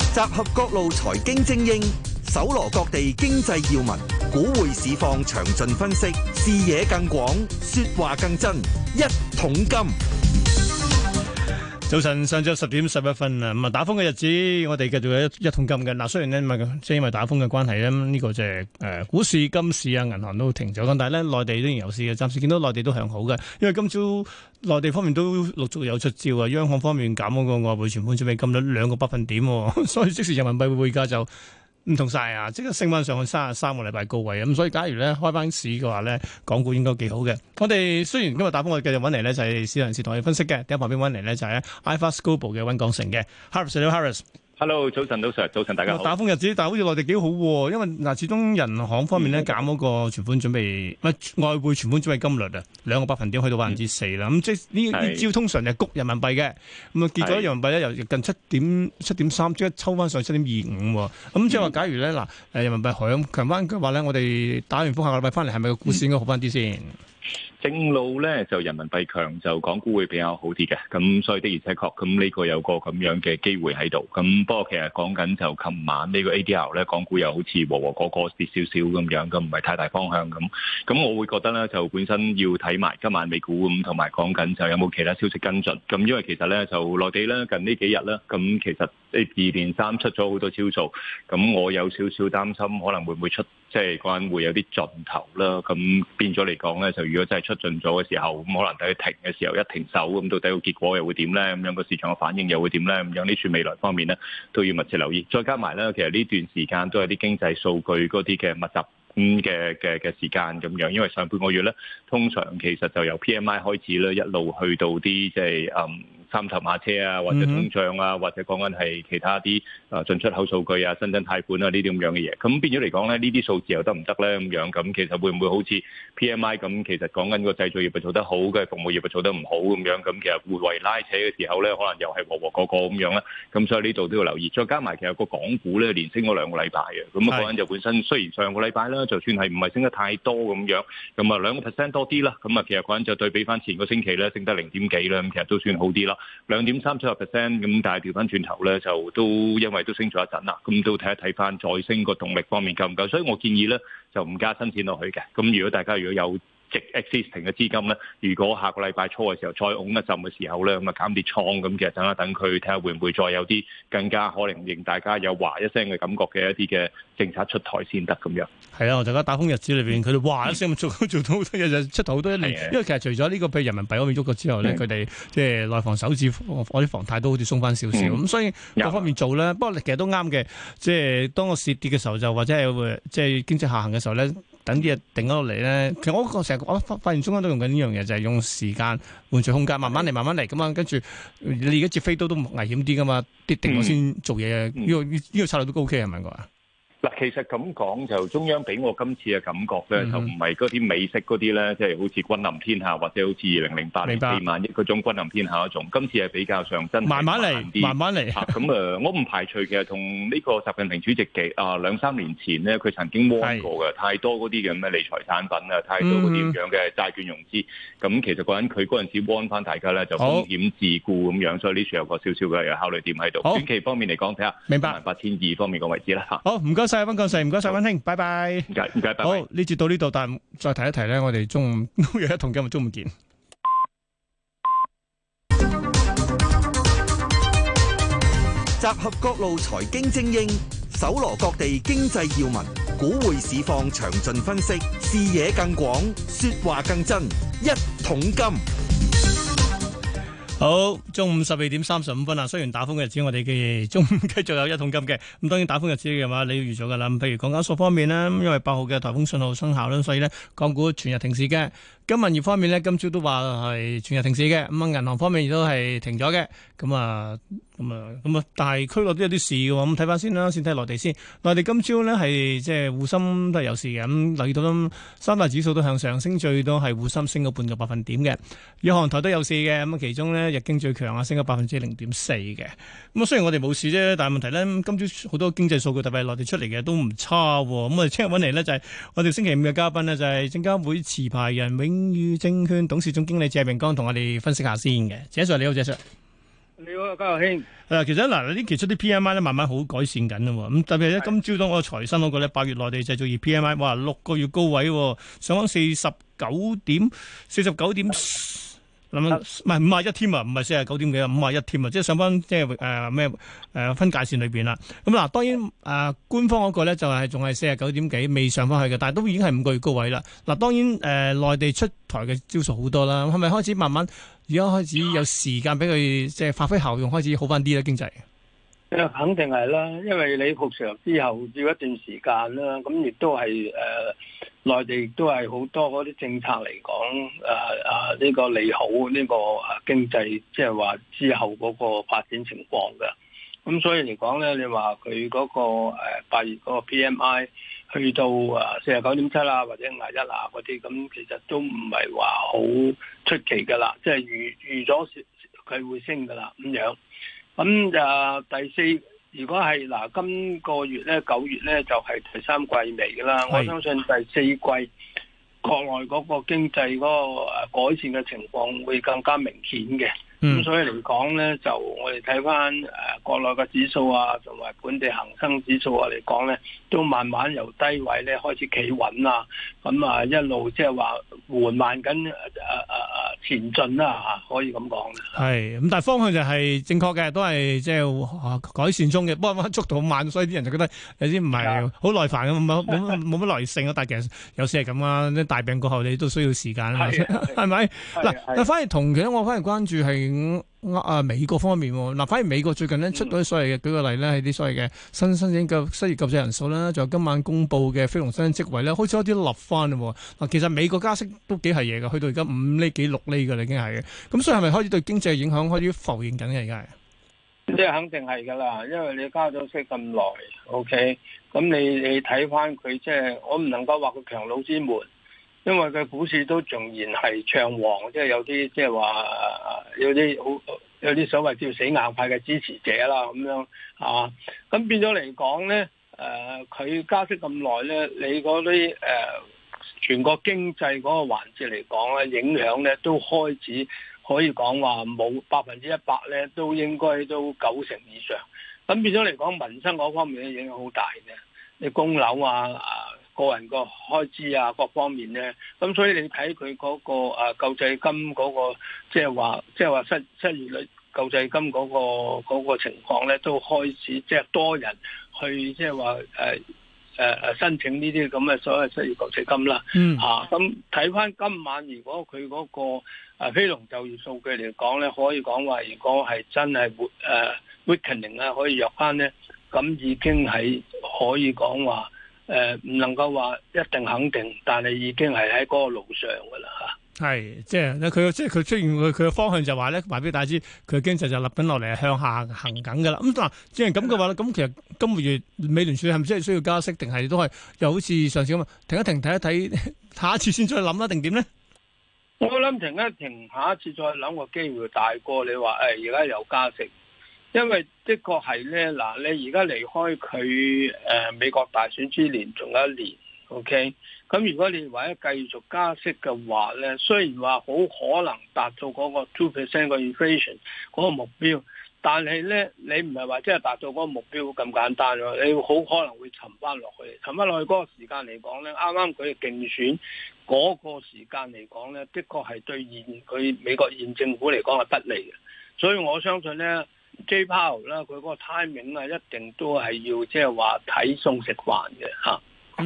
集合各路財經精英，搜羅各地經濟要聞，股匯市況詳盡分析，視野更廣，說話更真。一桶金。 早晨，上晝10:11啊！咁啊，打風嘅日子，我哋繼續有一桶金嘅。嗱，雖然咧，即係因為打風嘅關係咧，呢個就係股市、金市啊、銀行都停咗。咁但係咧，內地仍然有市嘅，暫時見到內地都向好嘅。因為今朝內地方面都陸續有出招啊，央行方面減嗰個外匯存款準備金率2個百分點，所以即時人民幣匯價就唔同晒啊！即刻升翻上去33個禮拜高位咁，所以假如咧開翻市嘅話咧，港股應該幾好嘅。我哋雖然今日打風，我哋繼續揾嚟咧就係市場人士同我哋分析嘅。第一旁邊揾嚟咧就係 iFAST Global 嘅溫鋼城嘅 Harris。Hello， 早晨，早晨，大家好。 打風日子，但係好似內地幾好喎，因為嗱，始終人行方面咧減嗰個存款準備，外匯存款準備金率啊，2個百分點去到4%啦。咁即係呢招通常係谷人民幣嘅，咁啊結果人民幣咧由近7.3即刻抽翻上7.25喎。咁即係話，假如咧嗱，人民幣強翻嘅話咧，我哋打完風下個禮拜翻嚟，係咪個股市應該好翻啲先？ 正路咧就人民幣強就港股會比較好啲嘅，咁所以的而且確咁呢個有個咁樣嘅機會喺度。咁不過其實講緊就琴晚呢個 ADR 咧，港股又好似和個跌少少咁樣，咁唔係太大方向咁。咁我會覺得咧就本身要睇埋今晚美股咁，同埋講緊就有冇其他消息跟進。咁因為其實咧就內地咧近呢幾日咧，咁其實2連3出咗好多招數，咁我有少少擔心可能會唔會出。即係嗰陣會有啲盡頭啦，咁變咗嚟講咧，就如果真係出盡咗嘅時候，咁可能等佢停嘅時候一停手，咁到底個結果又會點咧？咁樣個市場嘅反應又會點咧？咁樣呢處未來方面咧都要密切留意。再加埋咧，其實呢段時間都係啲經濟數據嗰啲嘅密集嘅時間咁樣，因為上半個月咧通常其實就由 PMI 開始咧，一路去到啲即係三頭馬車啊，或者通脹啊，或者講緊係其他啲進出口數據啊、新增貸款啊呢啲咁樣嘅嘢，咁變咗嚟講咧，呢啲數字又得唔得咧？咁樣咁其實會唔會好似 PMI 咁？其實講緊個製造業係做得好嘅，服務業係做得唔好咁樣，咁其實互為拉扯嘅時候咧，可能又係和個咁樣啦。咁所以呢度都要留意。再加埋其實個港股咧連升咗2個禮拜嘅，咁講緊就本身雖然上個禮拜啦，就算係唔係升得太多咁樣，咁啊2% 多啲啦，咁啊其實講緊就對比翻前個星期咧升得0點幾啦，咁其實都算好啲啦。2.37%咁，但係調翻轉頭咧，就都因為都升咗一陣啦，咁都睇一睇翻再升個動力方面夠唔夠，所以我建議咧就唔加新錢落去嘅。咁如果大家如果有existing 嘅資金咧，如果下個禮拜初嘅時候再拱一陣嘅時候咧，咁啊減啲倉，咁其實等一等佢睇下會唔會再有啲更加可能令大家有嘩一聲嘅感覺嘅一啲嘅政策出台先得咁樣。係啊，大家打風日子裏邊，佢哋嘩一聲做到好多嘢，就出台好多一年。因為其實除咗呢個譬如人民幣嗰邊喐過之後咧，佢哋即係內房首置嗰啲房貸都好似鬆翻少少，咁所以各方面做咧。不過其實都啱嘅，即係當個市跌嘅時候就或者係即係經濟下行嘅時候咧。等啲嘢定咗落嚟咧，其實我成日我發現中間都用緊呢樣嘢，就係用時間換取空間，慢慢嚟咁啊。跟住你而家接飛刀都危險啲噶嘛，跌定咗先做嘢。呢個策略都 OK 係咪㗎？ 嗱，其實咁講就中央俾我今次嘅感覺咧，就唔係嗰啲美式嗰啲咧，即係好似君臨天下或者好似2008年4萬億嗰種君臨天下嗰種。今次係比較上真係慢慢嚟。咁我唔排除其實同呢個習近平主席嘅2-3年前咧，佢曾經 warn 過嘅，太多嗰啲嘅咩理財產品啊，太多嗰啲咁樣嘅債券融資。咁其實嗰陣佢嗰陣時 warn 翻大家咧，就風險自顧咁樣，所以呢處有個少少嘅考慮點喺度。短期方面嚟講，睇下18200方面個位置啦。 好，唔該晒溫鋼城，唔該晒溫兄，拜拜。 唔該，拜拜。 好，呢節到呢度，但係再提一提咧，我哋中午都有一同今日中午見。 集合各路財經精英，搜羅各地經濟要聞，股匯市況詳盡分析，視野更廣，說話更真。一桶金。 好，中午12:35啊！雖然打風嘅日子，我哋嘅中午繼續有一桶金嘅。咁當然打風日子嘅話，你要預咗噶啦。譬如港交所方面呢，因為8號嘅颱風信號生效啦，所以呢港股全日停市嘅。金銀業方面呢，今朝都話係全日停市嘅。咁啊，銀行方面亦都係停咗嘅。咁啊，但係區內都有啲事嘅喎。咁睇翻先啦，先睇內地先。內地今朝呢係即係滬深都係有事嘅。咁留意到三大指數都向上升，最多係滬深升咗半個百分點嘅。日韓台都有事嘅。咁其中呢，日經最強啊，升咗0.4%嘅。咁雖然我哋冇事啫，但係問題呢，今朝好多經濟數據特別係內地出嚟嘅都唔差。咁我哋聽日揾嚟呢，就係我哋星期五嘅嘉賓呢，就係證監會持牌人永裕證券董事總經理謝明光同我哋分析下先嘅。謝 Sir 你好，謝 Sir。 你好，家樂兄。 其實嗱，呢期出啲 PMI 咧，慢慢好改善緊啦。咁特別係咧，今朝當我財新嗰個咧，8月內地製造業 PMI，哇，6個月高位，上翻49點，諗唔係51添啊，唔係49點幾啊，51添啊，即係上翻即係分界線裏邊啦。咁嗱，當然官方嗰個咧就係仲係49點幾，未上翻去嘅，但係都已經係5個月高位啦。嗱，當然內地出台嘅招數好多啦，係咪開始慢慢而家開始有時間俾佢即係發揮效用，開始好翻啲咧經濟？ 肯定係啦，因為你復常之後要一段時間啦，咁亦都係內地亦都係好多嗰啲政策嚟講，呢個利好呢個經濟，即係話之後嗰個發展情況嘅。咁所以嚟講咧，你話佢嗰個8月嗰個 PMI 去到49.7啦，或者51啊嗰啲，咁其實都唔係話好出奇噶啦，即係預咗佢會升噶啦咁樣。咁第四，如果係今個月咧9月咧就係第三季尾噶啦，我相信第四季國內嗰個經濟嗰個改善嘅情況會更加明顯嘅。咁所以嚟講咧，就我哋睇翻國內嘅指數啊，同埋本地恒生指數啊嚟講咧，都慢慢由低位咧開始企穩啦。咁一路即係話緩慢緊前進啦嚇，可以咁講。 係咁，但係方向就係正確嘅，都係即係改善中嘅。不過速度好慢，所以啲人就覺得有啲唔係好耐煩咁，冇乜耐性啊。但係其實有時係咁啊，啲大病過後你都需要時間啊，係咪？嗱，但反而同期我反而關注係美國方面嗱，反而美國最近咧出咗所謂嘅舉個例咧，係啲所謂嘅申請嘅失業救濟人數啦，仲有今晚公布嘅非農新增職位咧，開始有啲立翻啦。嗱，其實美國加息都幾係嘢㗎，去到而家5厘幾6厘㗎啦，已經係嘅。咁所以係咪開始對經濟影響開始浮現緊嘅而家係？ 即係肯定係㗎啦，因為你加咗息咁耐 ，OK， 咁你睇翻佢即係我唔能夠話佢強弩之末。因為佢股市都仍然係暢旺，即係有啲即係話有啲所謂叫死硬派嘅支持者啦，咁樣啊，咁變咗嚟講咧，佢加息咁耐咧，你嗰啲全國經濟嗰個環節嚟講咧，影響咧都開始可以講話冇100%咧，都應該都90%以上。咁變咗嚟講，民生嗰方面咧影響好大嘅，你供樓個人個開支啊，各方面咧，咁所以你睇佢嗰個救濟金嗰個，即係話失業率救濟金嗰個情況咧，都開始即係多人去即係話申請呢啲咁嘅所謂失業救濟金啦。咁睇翻今晚如果佢嗰個非農就業數據嚟講咧，可以講話如果係真係weakening 啊，可以弱翻咧，咁已經係可以講話。唔能夠話一定肯定，但係已經係喺嗰個路上噶啦嚇。 係，即係佢出現佢嘅方向就話咧，話俾大家知佢嘅經濟就立緊落嚟，向下行緊噶啦。咁嗱，既然咁嘅話咧，咁其實今個月美聯儲係咪真係需要加息，定係都係又好似上次咁啊？停一停，睇一睇，下一次先再諗啦，定點咧？ 我諗停一停，下一次再諗個機會大過你話而家又加息。因為的確係咧，嗱，你而家離開佢美國大選之年仲有1年 ，OK， 咁如果你話咧繼續加息嘅話咧，雖然話好可能達到嗰個 2% 個 inflation 嗰個目標，但係咧你唔係話即係達到嗰個目標咁簡單咯，你好可能會沉翻落去，沉翻落去嗰個時間嚟講咧，啱啱佢嘅競選嗰個時間嚟講咧，的確係對佢美國現政府嚟講係不利嘅，所以我相信咧。J Powell 啦，佢嗰個 timing 啊，一定都係要即係話睇餸食飯嘅嚇。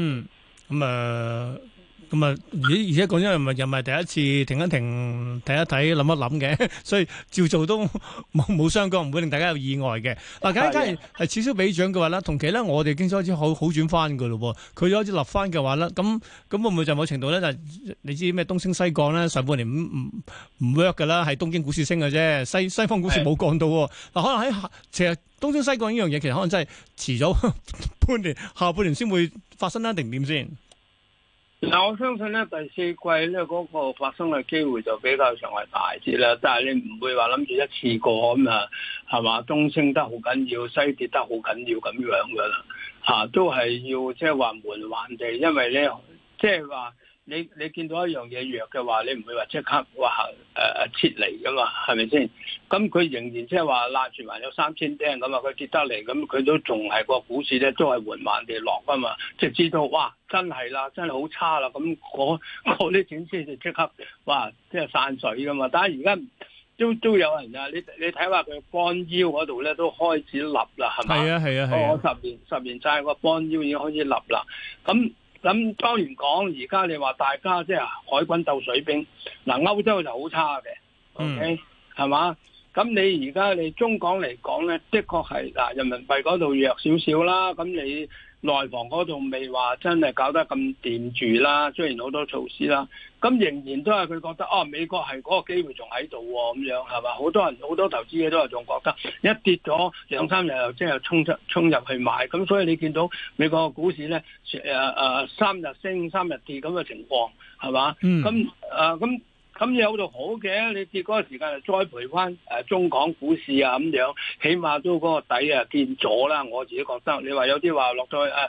而且講真又唔係第一次停一停睇一睇諗一諗嘅，所以照做都冇相干，唔會令大家有意外嘅。嗱，假如係此消彼長嘅話咧，同期咧我哋經濟開始好轉翻嘅咯，佢開始立翻嘅話咧，咁會唔會就某程度咧就你知咩東升西降咧？上半年唔 work 㗎啦，係東京股市升嘅啫，西方股市冇降到。嗱，可能喺其實東升西降呢樣嘢，其實可能真係遲咗半年，下半年先會發生啦，定點先？ 嗱，我相信咧第四季咧嗰個發生嘅機會就比較上係大啲啦，但係你唔會話諗住一次過咁啊，係嘛？東升得好緊要，西跌得好緊要咁樣噶啦，都係要即係話緩緩地，因為咧即係話你見到一樣嘢弱嘅話，你唔會話即刻話撤離噶嘛，係咪先？咁佢仍然即係話拉住還有3000釘咁啊，佢跌得嚟，咁佢都仲係個股市咧，都係緩慢地落噶嘛，即係知道哇，真係啦，真係好差啦，咁嗰啲錢先就即刻哇，即係散水噶嘛。但係而家都有人啊，你睇下佢幫腰嗰度咧都開始立啦，係咪？係啊。我十年債個幫腰已經開始立啦，咁當然講，而家你話大家即係海軍鬥水兵，嗱歐洲就好差嘅，OK 係嘛？咁你而家你中港嚟講咧，的確係嗱人民幣嗰度弱少少啦，咁你內房嗰度未話真係搞得咁掂住啦，雖然好多措施啦，咁仍然都係佢覺得美國係嗰個機會仲喺度喎，咁樣係嘛？好多人好多投資者都係仲覺得一跌咗2-3日又即係衝入去買，咁所以你見到美國嘅股市咧3日升3日跌咁嘅情況係嘛？咁有度好嘅，你跌嗰個時間就栽培翻中港股市啊咁樣，起碼都嗰個底啊見咗啦。我自己覺得，你話有啲話落咗去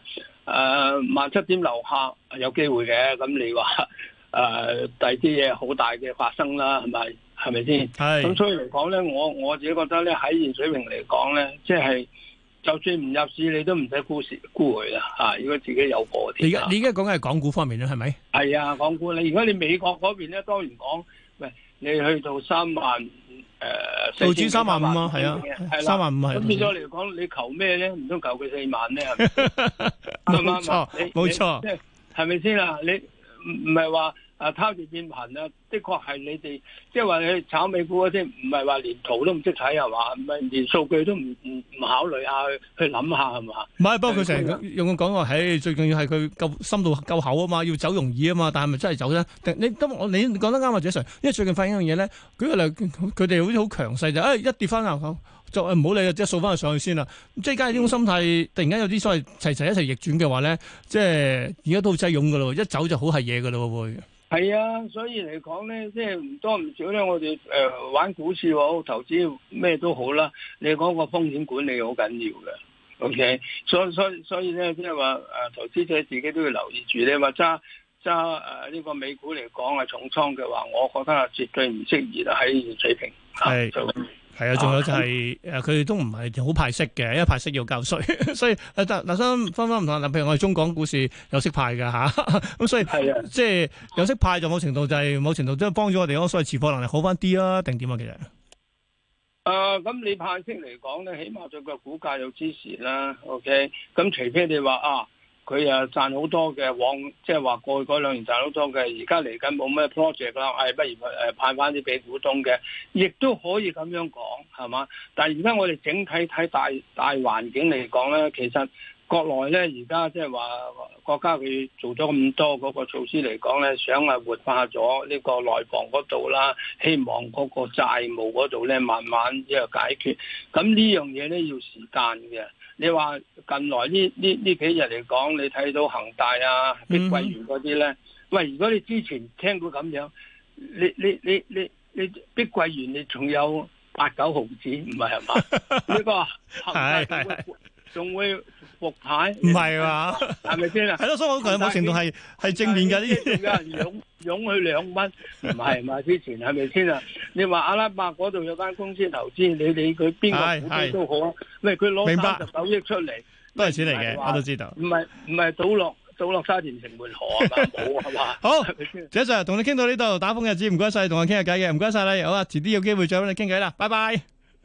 17點樓下有機會嘅，咁你話第二啲嘢好大嘅發生啦，係咪先？係。咁所以嚟講咧，我自己覺得咧喺現水平嚟講咧，即係。就算唔入市，你都唔使沽佢啦嚇！如果自己有貨啲。 你而家講緊係港股方面咧，係咪？係啊，港股如果你美國嗰邊咧，當然講，喂，你去到3萬道指3萬5啊，係啊，3萬5係。 咁變咗嚟講，你求咩咧？唔通求佢4萬咩？ 冇錯，冇錯， 即係係咪先啊？你唔係話拋住變頻啊？的確係你哋即係話你炒美股嗰啲，唔係話連圖都唔識睇係嘛？唔係連數據都唔考慮下去諗下係嘛？ 唔係，不過佢成日用講話，最重要係佢夠深度夠厚啊嘛，要走容易啊嘛。但係咪真係走咧？你講得啱啊，謝 Sir。因為最近發現一樣嘢咧，舉個例，佢哋好似好強勢就一跌翻啊，就唔好理啊，即係掃翻佢上去先啦。即係假如呢種心態突然間有啲所謂齊一齊逆轉嘅話咧，即係而家都好擠擁噶咯，一走就好係嘢噶咯會。 係啊，所以嚟講咧，即係唔多唔少咧，我哋玩股市好，投資咩都好啦。你講個風險管理好緊要嘅 ，OK。所以咧，即係話投資者自己都要留意住。你話揸呢個美股嚟講係重倉嘅話，我覺得係絕對唔適宜啦喺現水平。係。 係啊，仲有就係佢哋都唔係好派息嘅，因為派息要交稅，所以嗱分唔同。譬如我哋中港股市有息派㗎嚇，咁所以即係有息派就某程度都幫咗我哋嗰所謂持貨能力好翻啲啊，定點啊其實？ 咁你派息嚟講咧，起碼對個股價有支持啦。OK，咁除非你話佢賺好多嘅，即係話過去嗰2年賺好多嘅，而家嚟緊冇咩 project 啦，不如派翻啲俾股東嘅，亦都可以咁樣講，係嘛？但係而家我哋整體睇大環境嚟講咧，其實國內咧而家即係話國家佢做咗咁多嗰個措施嚟講咧，想活化咗呢個內房嗰度啦，希望嗰個債務嗰度咧慢慢解決。咁呢樣嘢咧要時間嘅。你話近來呢幾日嚟講，你睇到恒大啊、碧桂園嗰啲咧，喂，如果你之前聽到咁樣，你碧桂園你仲有8-9毫子，唔係嘛？呢個恒大仲會復牌？唔係嘛？係咪先啊？ 係咯，所以我覺得某程度係正面㗎呢啲。 有人湧去2蚊，唔係嘛？之前係咪先啊？你話阿拉伯嗰度有間公司投資，你理佢邊個股都好啊。喂，佢攞39億出嚟， 都係錢嚟嘅，我都知道。 唔係倒落沙田城門河啊嘛，冇係嘛？ 好，謝 Sir 同你傾到呢度，打風日子唔該晒，同我傾下偈嘅，唔該晒你。好啊，遲啲有機會再揾你傾偈啦，拜拜。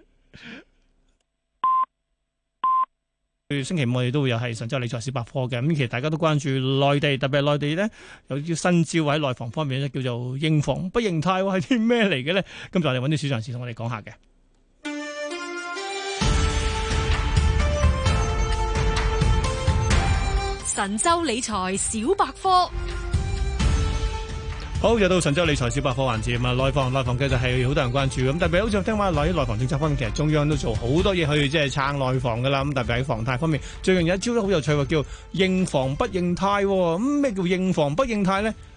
星期五我哋都會有係神州理財小百科嘅，咁其實大家都關注內地，特別係內地咧有啲新招喺內房方面咧，叫做認房不認貸，係啲咩嚟嘅咧？今日我哋揾啲市場人士同我哋講下嘅。 神州理財小百科。 好，又到神州理財小百科環節啊！內房其實係好多人關注咁，特別好似聽話內房政策方面，其實中央都做好多嘢去即係撐內房噶啦。咁特別喺房貸方面，最近有一招都好有趣喎，叫認房不認貸。咁咩叫認房不認貸咧？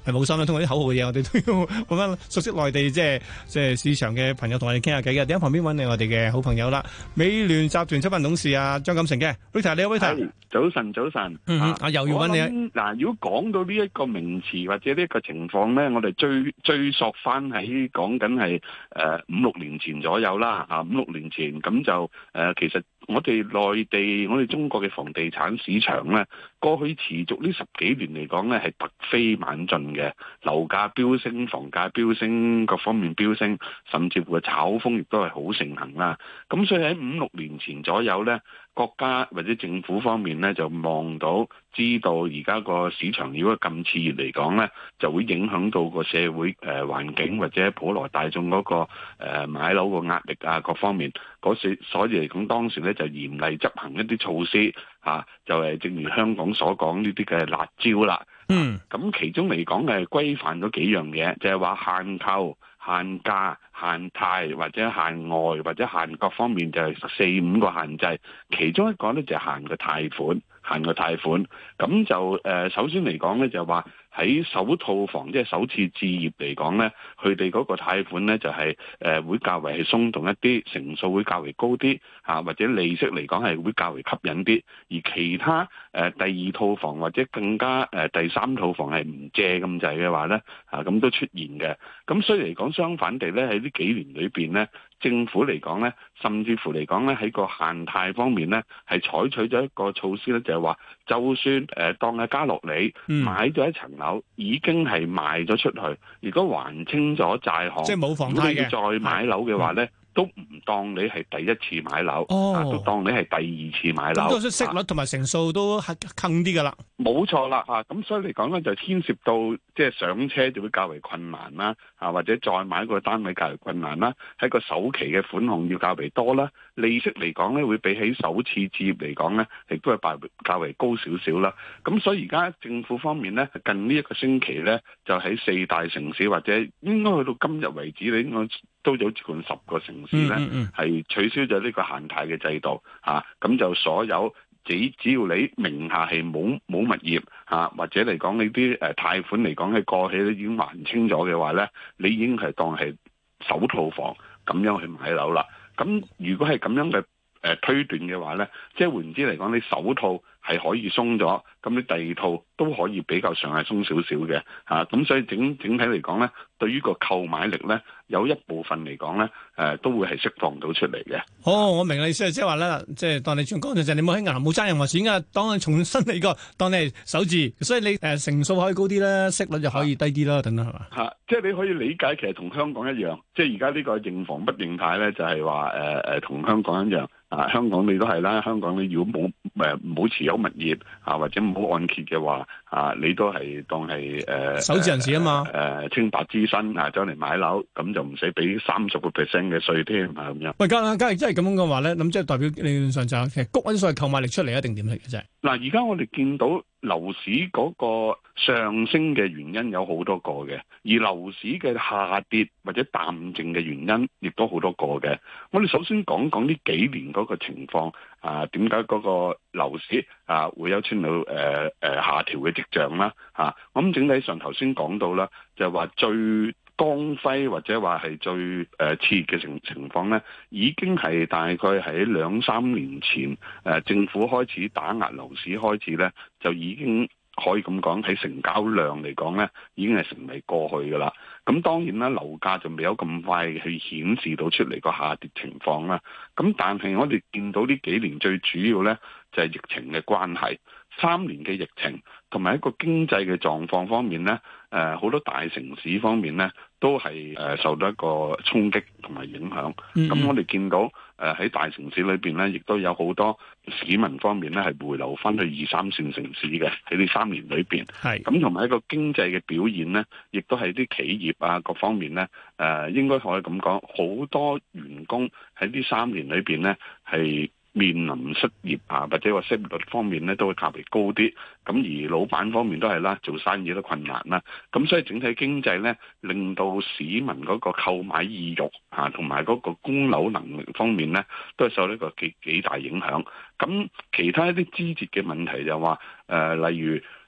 係冇心啦。通過啲口號嘅嘢，我哋都要揾翻熟悉內地即係市場嘅朋友同我哋傾下偈嘅。點解旁邊揾你我哋嘅好朋友啦？美聯集團執行董事啊張錦成嘅 Rita， 你好 Rita。 早晨，早晨。 又要揾你。 嗱，如果講到呢一個名詞或者呢一個情況咧，我哋追溯翻喺講緊係5-6年前左右啦，嚇5-6年前咁就其實我哋內地我哋中國嘅房地產市場咧，過去持續呢10幾年嚟講咧係突飛猛進嘅，樓價飆升、房價飆升、各方面飆升，甚至乎嘅炒風亦都係好盛行啦。咁所以喺5-6年前左右咧，國家或者政府方面咧就望到知道而家個市場如果咁熾熱嚟講咧，就會影響到個社會環境或者普羅大眾嗰個買樓個壓力啊各方面所以嚟講當時咧就嚴厲執行一啲措施就係正如香港所講呢啲嘅辣招啦。咁其中嚟講係規範咗幾樣嘢，就係話限購、限價、限貸或者限外或者限各方面就係4-5個限制，其中一個咧就係限個貸款，咁就首先嚟講咧就係話喺首套房即係首次置業嚟講咧，佢哋嗰個貸款咧就係會較為係鬆動一啲，成數會較為高啲或者利息嚟講係會較為吸引啲，而其他第二套房或者更加第三套房係唔借咁滯嘅話咧咁都出現嘅。咁所以嚟講相反地咧喺呢幾年裏邊咧，政府嚟講咧，甚至乎嚟講咧喺個限貸方面咧係採取咗一個措施咧，就係話就算當係嘉樂里買咗一層樓已經係賣咗出去，如果還清咗債項， 即係冇房貸嘅， 如果你再買樓嘅話咧，都唔當你係第一次買樓，都當你係第二次買樓。 咁息率同埋成數都係坑啲噶啦。 冇錯啦，咁所以嚟講咧就牽涉到即係上車就會較為困難啦，或者再買個單位較為困難啦，喺個首期嘅款項要較為多啦，利息嚟講咧會比起首次置業嚟講咧，亦都係較為高少少啦。咁所以而家政府方面咧，近呢一個星期咧，就喺4大城市或者應該去到今日為止，你應該都有接近10個城市咧，係取消咗呢個限貸嘅制度咁就所有只要你名下係冇物業或者嚟講呢啲貸款嚟講喺過去咧已經還清咗嘅話咧，你已經係當係首套房咁樣去買樓啦。咁如果係咁樣嘅推斷嘅話咧，即係換言之嚟講，你首套係可以鬆咗，咁你第二套都可以比較上係鬆少少嘅咁所以整體嚟講咧，對於個購買力咧，有一部分嚟講咧，都會係釋放到出嚟嘅。 我明你意思，即係話咧，即係當你轉工就係你冇喺銀行冇爭任何錢㗎，當你重新嚟過，當你係首置，所以你成數可以高啲啦，息率就可以低啲啦，等等係嘛？ 即係你可以理解，其實同香港一樣，即係而家呢個認房不認貸咧，就係話同香港一樣。香港你都係啦，香港你如果冇持有物業或者冇按揭嘅話你都係當係首置人士啊嘛， 清白之身走嚟買樓，咁就唔使俾30% 嘅稅添咁樣。 喂，假如真係咁樣嘅話咧，咁即係代表理論上就其實谷緊所謂購買力出嚟一定點嚟嘅啫。嗱， 而家我哋見到樓市嗰個上升嘅原因有好多個嘅，而樓市嘅下跌或者淡靜嘅原因亦都好多個嘅。我哋首先講講呢幾年嗰個情況點解嗰個樓市會有出到下調嘅跡象啦我諗整體上頭先講到啦，就係話最光輝或者話係最熾熱嘅情況咧，已經係大概喺2-3年前政府開始打壓樓市開始咧，就已經可以咁講喺成交量嚟講咧，已經係成為過去噶啦。咁當然啦，樓價就未有咁快去顯示到出嚟個下跌情況啦。咁但係我哋見到呢幾年最主要咧，就係疫情嘅關係，3年嘅疫情同埋一個經濟嘅狀況方面咧，好多大城市方面咧都係受到一個衝擊同埋影響。咁我哋見到喺大城市裏邊咧，亦都有好多市民方面咧係回流翻去2-3線城市嘅喺呢3年裏邊。咁同埋一個經濟嘅表現咧，亦都係啲企業各方面咧，應該可以咁講，好多員工喺呢3年裏邊咧係面臨失業或者話失業率方面咧都會較為高啲，咁而老闆方面都係啦，做生意都困難啦，咁所以整體經濟咧令到市民嗰個購買意欲同埋嗰個供樓能力方面咧都係受呢個幾大影響。咁其他一啲枝節嘅問題就話例如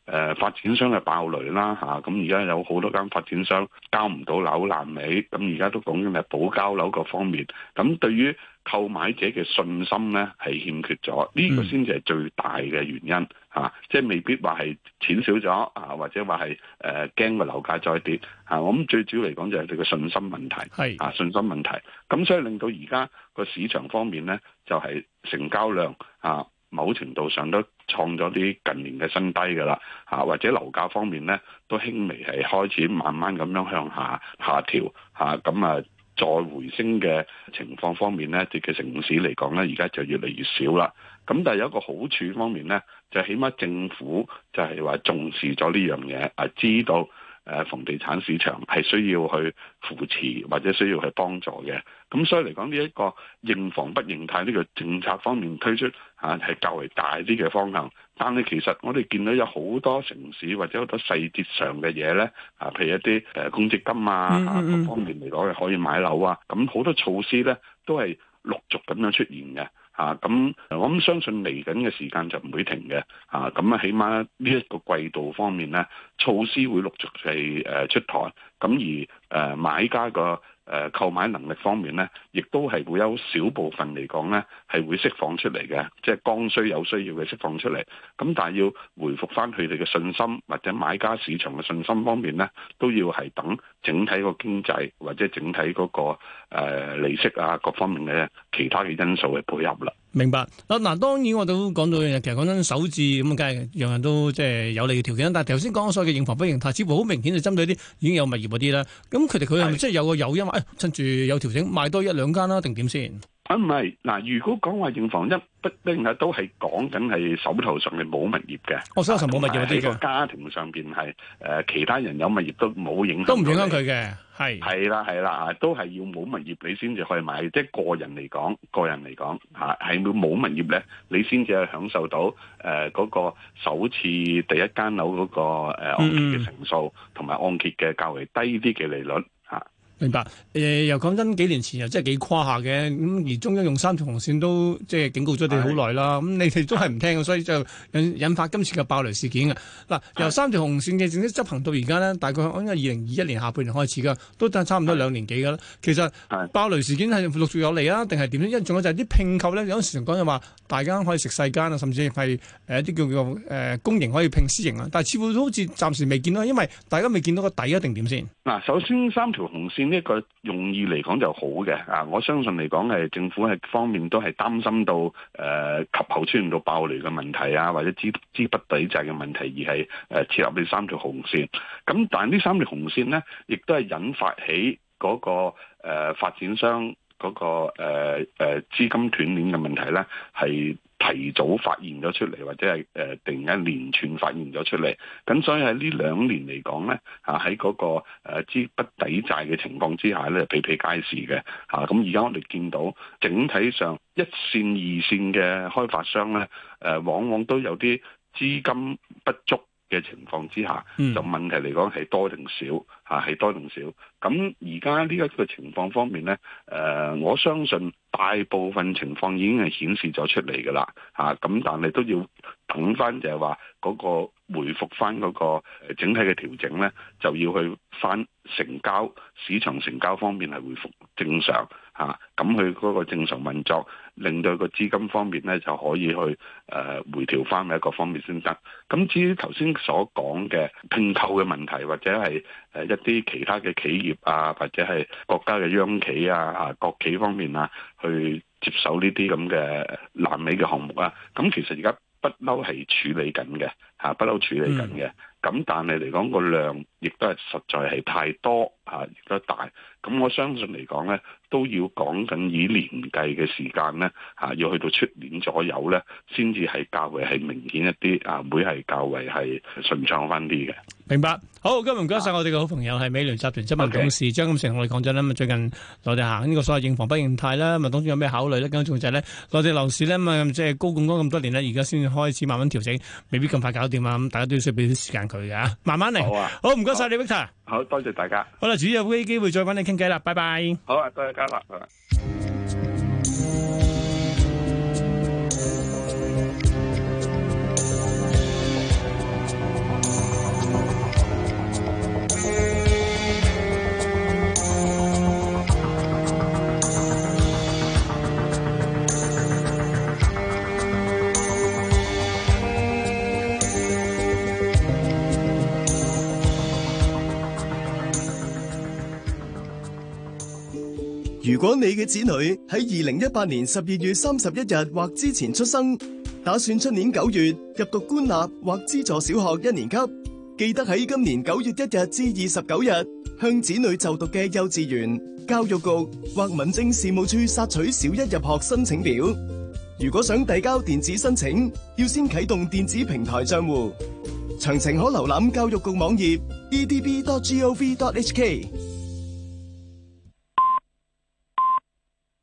發展商嘅爆雷啦嚇，咁而家有好多間發展商交唔到樓爛尾，咁而家都講緊係補交樓各方面，咁對於購買者嘅信心咧係欠缺咗，呢個先至係最大嘅原因嚇，即係未必話係錢少咗啊，或者話係驚個樓價再跌嚇，我諗最主要嚟講就係佢嘅信心問題，係啊信心問題，咁所以令到而家個市場方面咧就係成交量啊某程度上都創咗啲近年嘅新低㗎啦嚇，或者樓價方面咧都輕微係開始慢慢咁樣向下調嚇，咁啊。再回升嘅情況方面咧，嘅城市嚟講咧，而家就越嚟越少啦。咁但係有一個好處方面咧，就起碼政府就係話重視咗呢樣嘢，知道房地產市場係需要去扶持或者需要去幫助嘅。咁所以嚟講呢一個認房不認貸呢個政策方面推出係較為大啲嘅方向。但係其實我哋見到有好多城市或者好多細節上嘅嘢咧，譬如一啲公積金各方面嚟講係可以買樓啊，咁好多措施咧都係陸續咁樣出現嘅。咁我諗相信嚟緊嘅時間就唔會停嘅。咁起碼呢一個季度方面咧，措施會陸續係出台。咁而買家個購買能力方面咧，亦都係會有少部分嚟講咧係會釋放出嚟嘅，即係剛需有需要嘅釋放出嚟。咁但係要回復翻佢哋嘅信心或者買家市場嘅信心方面咧，都要係等整體個經濟或者整體嗰個利息各方面嘅其他嘅因素去配合啦。 明白嗱，當然我都講到其實講真首置咁，梗係樣樣都即係有利嘅條件。但係頭先講所謂嘅認房不認貸，似乎好明顯就針對啲已經有物業嗰啲啦。咁佢係咪即係有個誘因話，趁住有調整賣多一兩間啦，定點先？ 唔係嗱，如果講話認房不認貸都係講緊係手頭上係冇物業嘅。手頭上冇物業嗰啲嘅家庭上邊係其他人有物業都冇影響，都唔影響佢嘅。係啦，都係要冇物業你先至可以買，即係個人嚟講係冇物業咧，你先至係享受到嗰個首次第一間樓嗰個按揭嘅成數同埋按揭嘅較為低啲嘅利率。 明白，又講真，幾年前又真係幾誇下嘅，咁而中央用3條紅線都即係警告咗你好耐啦，咁你哋都係唔聽，所以就引發今次嘅爆雷事件嘅。嗱，由3條紅線嘅正式執行到而家呢，大概應該2021年下半年開始噶，都差唔多2年幾噶啦。其實爆雷事件係陸續有嚟啊，定係點咧？因為仲有就係啲併購咧，有時講就話大家可以食細間啊，甚至係一啲叫做公營可以併私營啊，但係似乎都好似暫時未見到，因為大家未見到個底一定點先。嗱， 首先3條紅線呢個用意嚟講就好嘅，我相信嚟講係政府係方面都係擔心到及後出現到爆雷嘅問題啊，或者資不抵債嘅問題，而係設立呢3條紅線。咁但係呢3條紅線呢，亦都係引發起嗰個發展商嗰個資金斷鏈嘅問題呢，係提早發現咗出嚟，或者係突然間連串發現咗出嚟。咁所以喺呢2年嚟講咧，喺嗰個資不抵債嘅情況之下咧，比比皆是嘅。咁而家我哋見到整體上1線、2線嘅開發商咧，往往都有啲資金不足嘅情況之下，就問題嚟講係多定少，係多定少。咁而家呢一個情況方面咧，我相信大部分情況已經係顯示咗出嚟㗎啦，咁但係都要等翻就係話嗰個回復翻嗰個整體嘅調整咧，就要去翻成交市場成交方面係回復正常咁佢嗰個正常運作，令到個資金方面咧就可以去回調翻喺一個方面先得。咁至於頭先所講嘅併購嘅問題，或者係一啲其他嘅企業或者係國家嘅央企國企方面去接手呢啲咁嘅爛尾嘅項目咁其實而家不嬲係處理緊嘅，不嬲處理緊嘅。咁但係嚟講個量亦都係實在係太多，亦都大。咁我相信嚟講咧，都要講緊以年計嘅時間咧，要去到出年左右咧，先至係較為係明顯一啲，會係較為係順暢翻啲嘅。 明白。好，今日唔該晒我哋嘅好朋友係美聯集團執行董事張錦成同我哋講咗啦。咁最近內地行呢個所謂認房不認貸啦，咁當中有咩考慮咧？咁仲就係咧，內地樓市咧即係高槓桿咁多年咧，而家先開始慢慢調整，未必咁快搞掂啊！咁大家都要需要俾啲時間佢嘅，慢慢嚟。好啊，好唔該晒你 Victor。 好多謝大家。 好啦，遲啲有機會再揾你傾偈啦，拜拜。 好啊，多謝嘉樂。 如果你嘅子女喺2018年12月31日或之前出生，打算出年9月入讀官立或資助小學1年級，記得喺今年9月1日至29日向子女就讀嘅幼稚園、教育局或民政事務處索取小一入學申請表。如果想遞交電子申請，要先啟動電子平台賬戶。詳情可瀏覽教育局網頁 edb.gov.hk。